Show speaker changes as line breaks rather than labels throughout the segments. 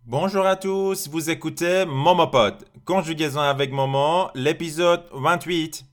Bonjour à tous, vous écoutez Momopod, conjugaison avec Momo, l'épisode 28.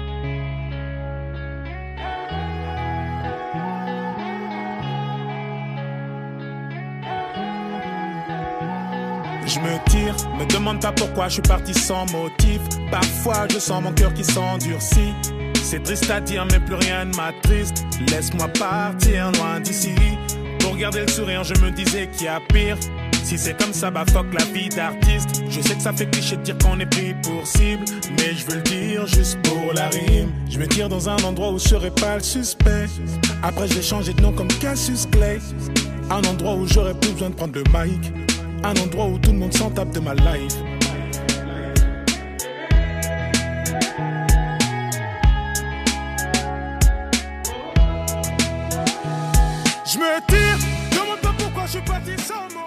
Je me tire, me demande pas pourquoi je suis parti sans motif. Parfois je sens mon cœur qui s'endurcit. C'est triste à dire mais plus rien ne m'attriste. Laisse-moi partir loin d'ici. Pour garder le sourire je me disais qu'il y a pire. Si c'est comme ça bah fuck la vie d'artiste. Je sais que ça fait cliché de dire qu'on est pris pour cible, mais je veux le dire juste pour la rime. Je me tire dans un endroit où je serai pas le suspect. Après je vais changer de nom comme Cassius Clay. Un endroit où j'aurais plus besoin de prendre le mic. Un endroit où tout le monde s'en tape de ma life. Je me tire, demande pas pourquoi je suis parti sans motif.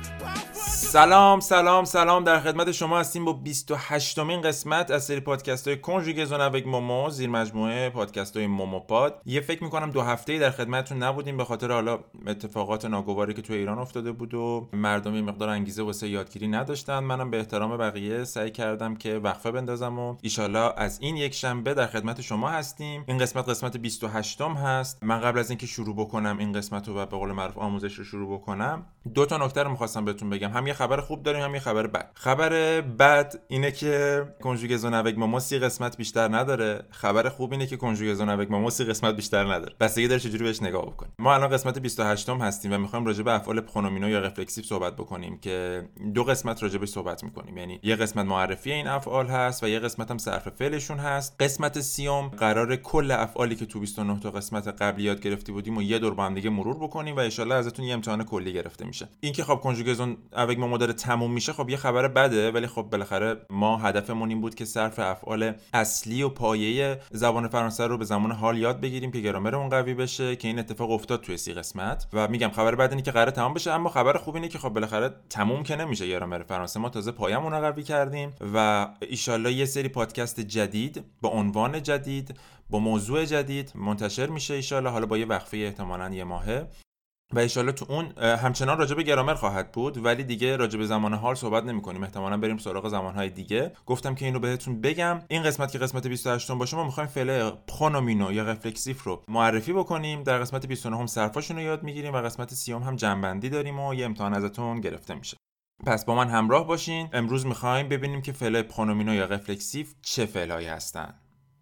سلام در خدمت شما هستیم با 28مین قسمت از سری پادکست های کنجوگزون avec مومو زیر مجموعه پادکست های موموپاد. یه فکر میکنم 2 هفته‌ای در خدمتتون نبودیم به خاطر حالا اتفاقات ناگواری که توی ایران افتاده بود و مردم یه مقدار انگیزه واسه یادگیری نداشتن. منم به احترام بقیه سعی کردم که وقفه بندازم و ایشالله از این یک شنبه در خدمت شما هستیم. این قسمت 28م هست. من قبل از اینکه شروع بکنم این قسمت رو و به قول معروف آموزش رو شروع بکنم 2 تا نکته رو می‌خواستم بهتون بگم. هم یه خبر خوب داریم هم یه خبر بد. خبر بد اینه که کنجوگزون avec مومو 30 قسمت بیشتر نداره. خبر خوب اینه که کنجوگزون avec مومو 30 قسمت بیشتر نداره. بستگی داره چجوری بهش نگاه بکنیم. ما الان قسمت 28م هستیم و می‌خوایم راجع به افعال پرونومینو یا رفلکسیو صحبت بکنیم که 2 قسمت راجع بهش صحبت می‌کنیم. یعنی یه قسمت معرفی این افعال هست و یه قسمت هم صرف فعلشون هست. قسمت 30م قراره کل افعالی که تو 29 تا قسمت قبلی یاد گرفتی بودیم و یه دور با هم دیگه مرور بکنیم و ان شاءالله ازتون یه امتحان کلی گرفته میشه. این که خب کنجوگزون avec مومو داره تموم میشه خب یه خبر بده، ولی خب بالاخره ما هدفمون این بود که صرف افعال اصلی و پایه زبان فرانسه رو به زمان حال یاد بگیریم که گرامرمون قوی بشه که این اتفاق افتاد توی 30 قسمت. و میگم خبر بد اینه که قراره تمام بشه، اما خبر خوب اینه که خب بالاخره تموم که نمیشه گرامر فرانسه. ما تازه پایه‌مون رو قوی کردیم و ان یه سری پادکست جدید با عنوان جدید با موضوع جدید منتشر میشه ان حالا با یه وقفه احتمالاً یه ماهه و ان تو اون همچنان راجع به گرامر خواهد بود، ولی دیگه راجع به زمان حال صحبت نمی‌کنیم. احتمالاً بریم سراغ زمان‌های دیگه. گفتم که اینو بهتون بگم. این قسمت که قسمت 28م باشه ما می‌خوایم فعل پرونومینو یا رفلکسیو رو معرفی بکنیم. در قسمت 29 هم صرفاشون رو یاد می‌گیریم و قسمت 30 هم جمع‌بندی داریم و یه امتحان ازتون گرفته میشه. پس با من همراه باشین. امروز می‌خوایم ببینیم که فعل پرونومینو یا رفلکسیو چه فعلایی هستن.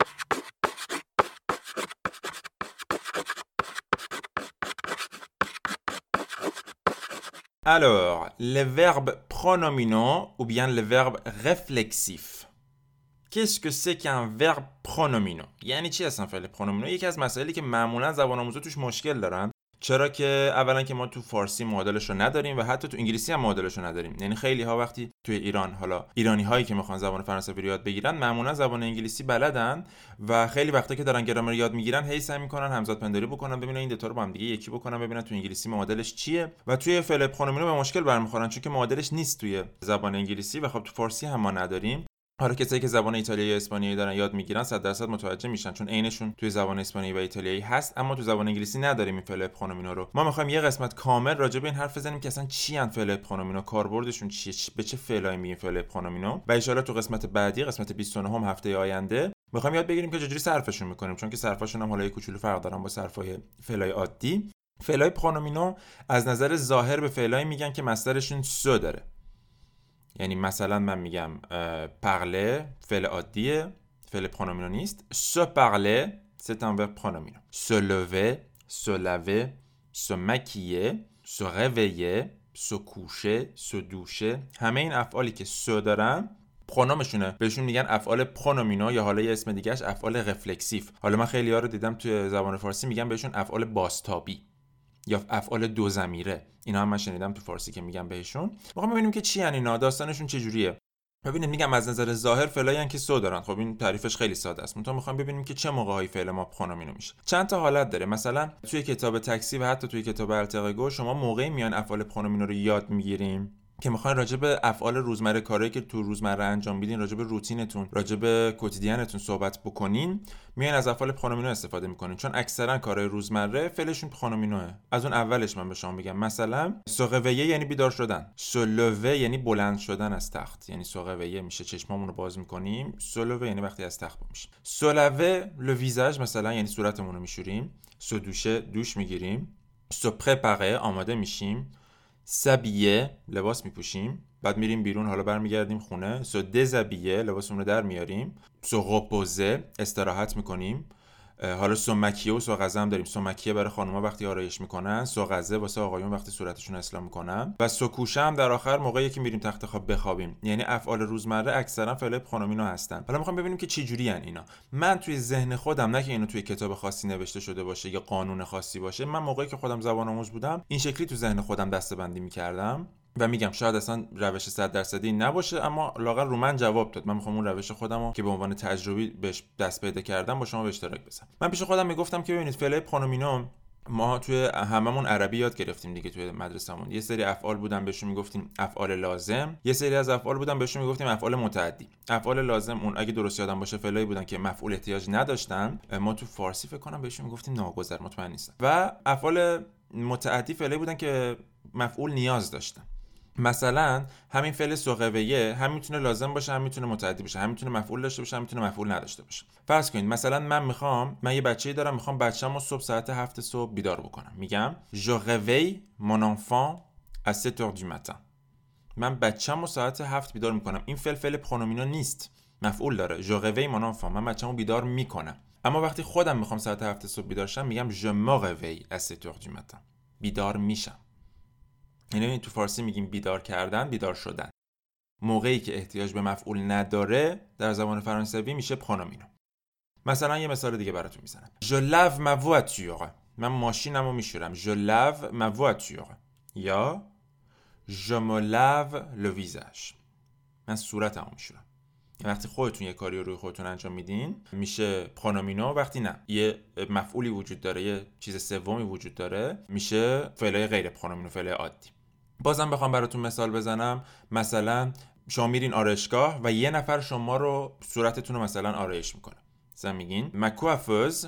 Alors, le verbe pronominaux ou bien le verbe réflexif. Qu'est-ce que c'est qu'un verbe pronominaux؟ یعنی چی هستن فعل پرونومینو؟ یکی از مسائلی که معمولا زبان آموزا توش مشکل دارن. چرا که اولا که ما تو فارسی معادلش رو نداریم و حتی تو انگلیسی هم معادلش رو نداریم. یعنی خیلی ها وقتی توی ایران حالا ایرانی هایی که میخوان زبان فرانسوی رو یاد بگیرن معمولا زبان انگلیسی بلدن و خیلی وقتا که دارن گرامر یاد میگیرن هی سعی میکنن همزاد پنداری بکنن، ببینن این دو تا رو با هم دیگه یکی بکنن، ببینن تو انگلیسی معادلش چیه و توی فعل پرونومینو به مشکل برمیخورن چون که معادلش نیست توی زبان انگلیسی و خب تو فارسی هم ما نداریم. حالا کسایی که زبان ایتالیایی یا اسپانیایی دارن یاد میگیرن 100% متوجه میشن چون عینشون توی زبان اسپانیایی و ایتالیایی هست، اما تو زبان انگلیسی نداریم این فعل پرونومینو رو. ما میخوایم یه قسمت کامل راجع به این حرف بزنیم که اصلا چی ان فعل پرونومینو، کاربردشون چیه، به چه فعلایی میگیم فعل پرونومینو و ان شاءالله تو قسمت بعدی قسمت 29 هفته آینده میخوایم یاد بگیریم که چجوری صرفشون میکنیم، چون که صرفاشون هم حالا یه کوچولو فرق دارن با صرفای فعلای عادی. فعلای پرونومینو از نظر ظاهر به فعلایی میگن که مصدرشون سو داره. یعنی مثلا من میگم parler فعل عادیه، فعل پرونومینو نیست. se parler c'est un verbe pronomino. se lever, se laver, se maquiller, se réveiller, se coucher, se doucher، همه این افعالی که سو دارن پرونومشونه بهشون میگن افعال پرونومینو یا حالا یه اسم دیگهش افعال رفلکسیو. حالا من خیلی‌ها رو دیدم توی زبان فارسی میگن بهشون افعال بازتابی یا افعال دو ضمیره. اینا هم من شنیدم تو فارسی که میگم بهشون. میخوام ببینیم که چی یعنی اینا، داستانشون چجوریه. ببینید میگم از نظر ظاهر فعلایی ان که سو دارن. خب این تعریفش خیلی ساده است. منتها میخوام ببینیم که چه موقع‌هایی فعل ما پرونومینو میشه. چند تا حالت داره. مثلا توی کتاب تاکسی و حتی توی کتاب التقاگو شما موقعی میان افعال پرونومینو رو یاد میگیریم که میخواین راجع به افعال روزمره، کارهایی که تو روزمره انجام میدین، راجع به روتینتون، راجع به کوتیدیانتون صحبت بکنین، میایین از افعال پرونومینو استفاده میکنین، چون اکثرا کارهای روزمره فعلشون پرونومینوه. از اون اولش من به شما میگم، مثلا سوغویه یعنی بیدار شدن، سولوه یعنی بلند شدن از تخت، یعنی سوغویه میشه چشمامون رو باز میکنیم، سولوه یعنی وقتی از تخت میشیم. سولاوه لو ویزاژ مثلا یعنی صورتمون رو میشوریم. سودوشه دوش میگیریم. سو پرپاره آماده میشیم. سابیه لباس میپوشیم، بعد میریم بیرون، حالا برمیگردیم خونه. سو دزابیه لباسمون رو در میاریم. سو رپوزه استراحت میکنیم. حالا سو مکیه و سو غزه هم داریم. سو مکیه برای خانوما وقتی آرایش میکنن، سو غزه واسه آقایون وقتی صورتشون اصلاح میکنن، و سو کوشه هم در آخر موقعی که میریم تخت خواب بخوابیم. یعنی افعال روزمره اکثرا فعل پرونومینو هستن. حالا میخوام ببینیم که چه جوری ان اینا. من توی ذهن خودم، نه که اینو توی کتاب خاصی نوشته شده باشه یا قانون خاصی باشه، من موقعی که خودم زبان آموز بودم این شکلی تو ذهن خودم دسته‌بندی میکردم و میگم شاید اصلا روش 100% نباشه، اما لااقل رو من جواب داد. من میخوام اون روش خودمو که به عنوان تجربی بهش دست پیدا کردم با شما به اشتراک بذارم. من پیش خودم میگفتم که ببینید فعل پرونومینو ما توی هممون عربی یاد گرفتیم دیگه، توی مدرسه‌مون یه سری افعال بودن بهشون میگفتیم افعال لازم، یه سری از افعال بودن بهشون میگفتیم افعال متعدی. افعال لازم اون اگه درست یادم باشه فعلایی بودن که مفعول احتیاج نداشتن، ما تو فارسی فکر کنم بهشون میگفتیم ناگزیر، مطمئن نیستم. و افعال متعدی فعلایی بودن که مفعول نیاز داشتن. مثلا همین فعل سوغویه هم میتونه لازم باشه، هم میتونه متعدی باشه، هم میتونه مفعول داشته باشه، هم میتونه مفعول نداشته باشه. فرض کنید مثلا من یه بچه‌ای دارم، میخوام بچه‌مو صبح ساعت 7 صبح بیدار بکنم. میگم je réveille mon enfant à 7h du matin. من بچه‌مو ساعت 7 بیدار میکنم. این فعل پرونومینو نیست، مفعول داره. je réveille mon enfant، من بچه‌مو بیدار میکنم. اما وقتی خودم میخوام ساعت 7 صبح بیدار شم، میگم je me réveille à 7h du matin. بیدار میشم. یعنی تو فارسی میگیم بیدار کردن، بیدار شدن. موقعی که احتیاج به مفعول نداره در زبان فرانسوی میشه پرونومینو. مثلا یه مثال دیگه براتون میزنم. Je lave ma voiture. من ماشینمو میشورم. Je lave ma voiture. یا Je me lave le visage. من صورتمو میشورم. وقتی خودتون یه کاری رو روی خودتون انجام میدین میشه پرونومینو، وقتی نه یه مفعولی وجود داره، یه چیز سومی وجود داره، میشه فعل غیر پرونومینو، فعل عادی. بازم بخوام براتون مثال بزنم، مثلا شما میرین آرایشگاه و یه نفر شما رو صورتتون رو مثلا آرایش میکنه. مثلا میگین ما کوافوز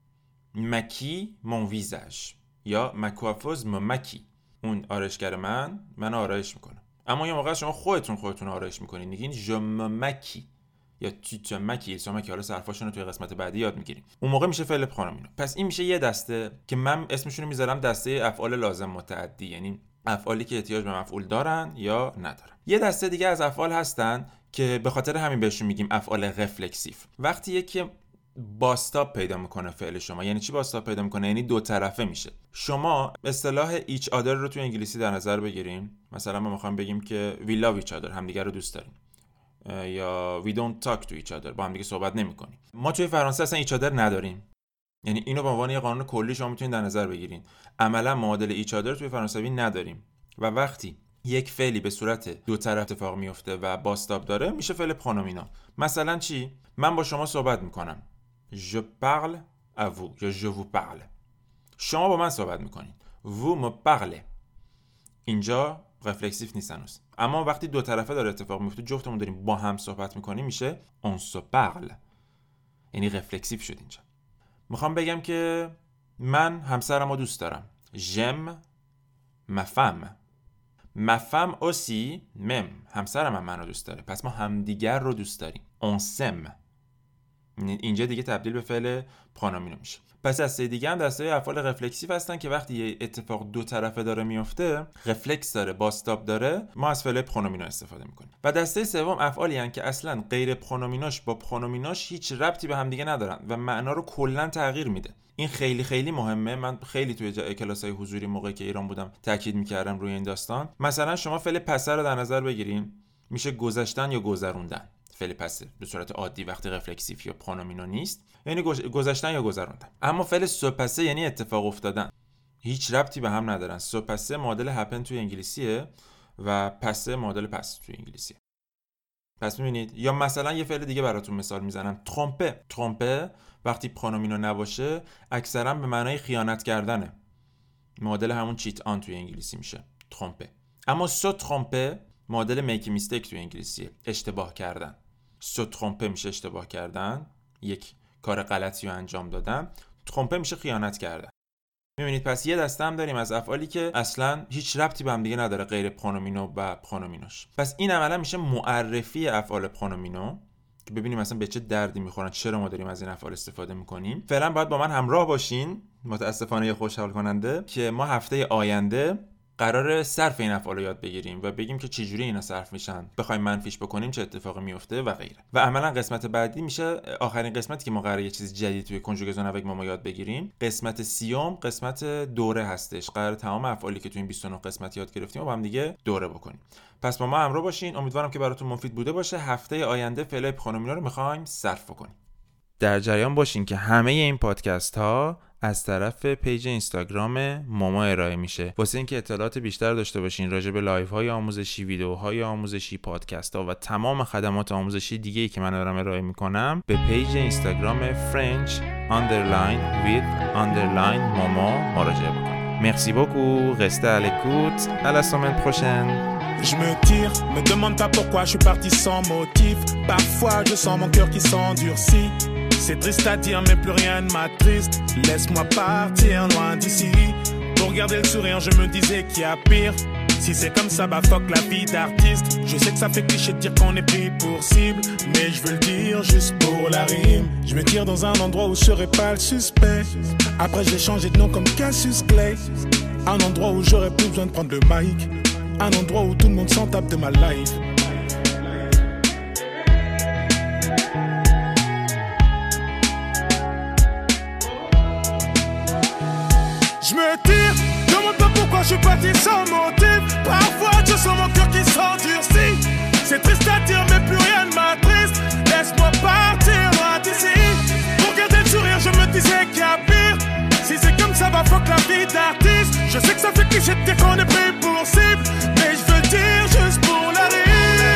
مکی مون ویزاژ، یا ما کوافوز مکی، اون آرایشگر من آرایش میکنه. اما یه موقع شما خودتون آرایش میکنین، میگین ژم مکی یا تو مکی، حالا صرفاشون رو توی قسمت بعدی یاد میگیریم. اون موقع میشه فعل پرونومینو. پس این میشه یه دسته که من اسمشون رو میذارم دسته افعال لازم متعدی، یعنی افعالی که احتیاج به مفعول دارن یا ندارن. یه دسته دیگه از افعال هستن که به خاطر همین بهشون میگیم افعال رفلکسیو. وقتی یکی باستاب پیدا میکنه فعل شما، یعنی چی باستاب پیدا میکنه؟ یعنی دو طرفه میشه. شما اصطلاح each other رو تو انگلیسی در نظر بگیریم. مثلا ما میخوایم بگیم که we love each other، همدیگه رو دوست داریم، یا we don't talk to each other، با همدیگه صحبت نمیکنیم. ما توی فرانسه اصلا each other نداریم. یعنی اینو به عنوان یه قانون کلی شما میتونید در نظر بگیرین. عملا معادل each other توی فرانسوی نداریم و وقتی یک فعلی به صورت دو طرف اتفاق میفته و باستاب داره میشه فعل پرونومینو. مثلا چی؟ من با شما صحبت میکنم. Je parle à vous یا je vous parle. شما با من صحبت میکنین. Vous me parlez. اینجا رفلکسیو نیست هنوز. اما وقتی دو طرفه داره اتفاق میفته، جفتمون داریم با هم صحبت میکنیم، میشه on se parle. یعنی رفلکسیو شد اینجا. میخوام بگم که من همسرمو دوست دارم. J'aime ma femme. Ma femme aussi m'aime. همسرم هم منو دوست داره. پس ما همدیگر رو دوست داریم. On s'aime. اینجا دیگه تبدیل به فعل پرونومینو میشه. پس دسته دیگه هم دسته افعال رفلکسیو هستن که وقتی یه اتفاق دو طرفه داره میفته، رفلکس داره، باستاب داره، ما از فعل پرونومینو استفاده میکنیم. و دسته سوم افعالی هستن که اصلا غیر پرونومینوش با پرونومینوش هیچ ربطی به هم دیگه ندارن و معنا رو کلا تغییر میده. این خیلی خیلی مهمه. من خیلی توی کلاس‌های حضوری موقعی که ایران بودم تاکید میکردم روی این داستان. مثلا شما فعل پسه رو در نظر بگیرین، میشه گذشتن یا گذروندن. فعل پسه به صورت عادی وقتی رفلکسیو یا پرونومینو نیست یعنی گذشتن یا گذروندن. اما فعل سو پسه یعنی اتفاق افتادن، هیچ ربطی به هم ندارن. سو پسه معادل هپن توی انگلیسیه و پسه معادل پس توی انگلیسیه. پس میبینید. یا مثلا یه فعل دیگه براتون مثال میزنم، ترومپه. ترومپه وقتی پرونومینو نباشه اکثرا به معنای خیانت کردنه. معادل همون چیت آن توی انگلیسی میشه ترومپه. اما سو ترامپه معادل میکی میستیک تو انگلیسیه، اشتباه کردن. سو ترامپه میشه اشتباه کردن، یک کار غلطی رو انجام دادن. ترامپه میشه خیانت کردن. میبینید پس یه دسته هم داریم از افعالی که اصلا هیچ ربطی به هم دیگه نداره غیر پرونومینو و پرونومینوش. پس این عملا میشه معرفی افعال پرونومینو که ببینیم مثلا به چه دردی میخورن، چرا ما داریم از این افعال استفاده میکنیم. فعلا باید با من همراه باشین، متاسفانه خوشحال کننده، که ما هفته آینده قراره صرف این افعال رو یاد بگیریم و بگیم که چجوری اینا صرف میشن، بخوایم منفیش بکنیم چه اتفاقی میفته و غیره. و عملا قسمت بعدی میشه آخرین قسمتی که ما قراره یه چیز جدید توی کنجوگزون avec ماما یاد بگیریم. قسمت 30 قسمت دوره هستش، قراره تمام افعالی که توی این 29 قسمت یاد گرفتیم و با هم دیگه دوره بکنیم. پس با ما همراه باشین، امیدوارم که براتون مفید بوده باشه. هفته آینده فعلای پرونومینو رو میخوایم صرف بکنیم. در جریان باشین که همه این پادکست ها از طرف پیج اینستاگرام ماما ارائه میشه. واسه اینکه اطلاعات بیشتر داشته باشین راجع به لایو های آموزشی، ویدیوهای آموزشی، پادکست ها و تمام خدمات آموزشی دیگه‌ای که من دارم ارائه میکنم، به پیج اینستاگرام French_with_mama مراجعه بکنید. Merci beaucoup, restez à l'écoute, à la semaine prochaine.
Je me tire, me demande pas pourquoi je suis parti sans motif. Parfois je sens mon cœur qui s'endurcit. C'est triste à dire mais plus rien ne m'attriste. Laisse-moi partir loin d'ici. Pour garder le sourire je me disais qu'il y a pire. Si c'est comme ça bah fuck la vie d'artiste. Je sais que ça fait cliché de dire qu'on est pris pour cible, mais je veux le dire juste pour la rime. Je me tire dans un endroit où je serai pas le suspect. Après je vais changer de nom comme Cassius Clay. Un endroit où j'aurais plus besoin de prendre le mic. Un endroit où tout le monde s'en tape de ma life. Je me tire, demande pas pourquoi je suis parti sans motif. Parfois je sens mon cœur qui s'endurcit. C'est triste à dire mais plus rien ne m'attriste. Laisse-moi partir loin d'ici. Pour garder le sourire je me disais qu'il y a pire. Si c'est comme ça va fuck la vie d'artiste. Je sais que ça fait cliché de dire qu'on est pris pour cible, mais je veux le dire juste pour la rime.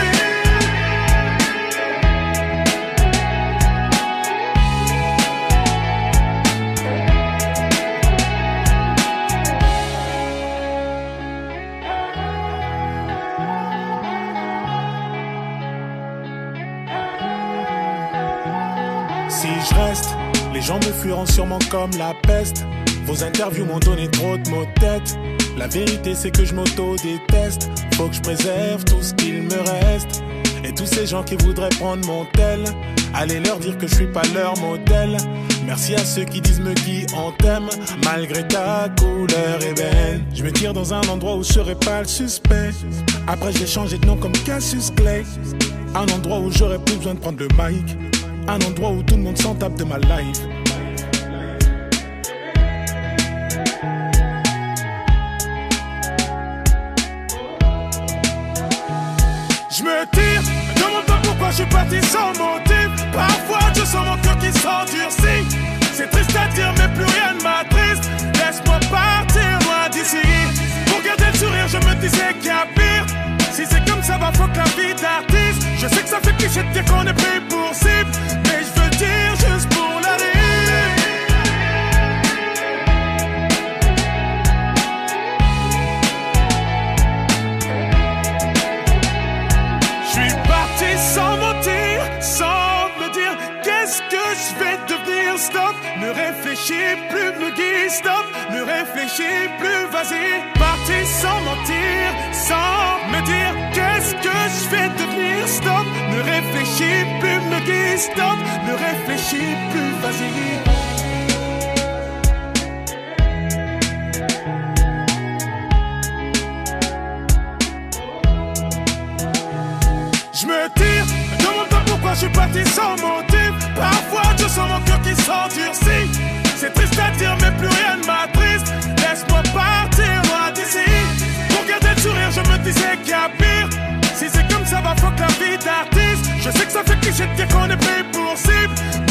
Si je reste, les gens me fuiront sûrement comme la peste. Vos interviews m'ont donné trop de maux de tête. La vérité c'est que je m'auto-déteste. Faut que je préserve tout ce qu'il me reste. Et tous ces gens qui voudraient prendre mon tel, allez leur dire que je suis pas leur modèle. Merci à ceux qui disent me qui on t'aime, malgré ta couleur ébène. Je me tire dans un endroit où je serai pas le suspect. Après j'ai changé de nom comme Cassius Clay. Un endroit où j'aurais plus besoin de prendre le mic. Un endroit où tout le monde s'en tape de ma life. Je me tire, me demande pas pourquoi je suis parti sans motif. Parfois je sens mon cœur qui s'endurcit. C'est triste à dire mais plus rien ne m'attriste. Laisse-moi partir loin d'ici. Pour garder le sourire je me disais qu'il y a pire. Si c'est comme ça va fuck la vie d'artiste. Je sais que ça fait cliché de dire qu'on est pris pour cible, mais je veux le dire juste pour la rime. Je suis parti sans mentir, sans me dire qu'est-ce que je vais devenir. Stop, ne réfléchis plus, me guide. Stop, ne réfléchis plus, vas-y. Parti sans mentir, sans me dire qu'est-ce que je vais devenir. Stop, ne réfléchis plus, me guide. Stop, ne réfléchis plus, vas-y. Je me tire, me demande pas pourquoi je suis parti sans motif. Parfois je sens mon cœur qui s'endurcit. C'est triste à dire mais plus rien ne m'attriste. Laisse-moi partir loin d'ici. Pour garder le sourire je me disais qu'il y a pire. Si c'est comme ça va fuck la vie d'artiste. Je sais que ça fait cliché de dire qu'on est pris pour cible,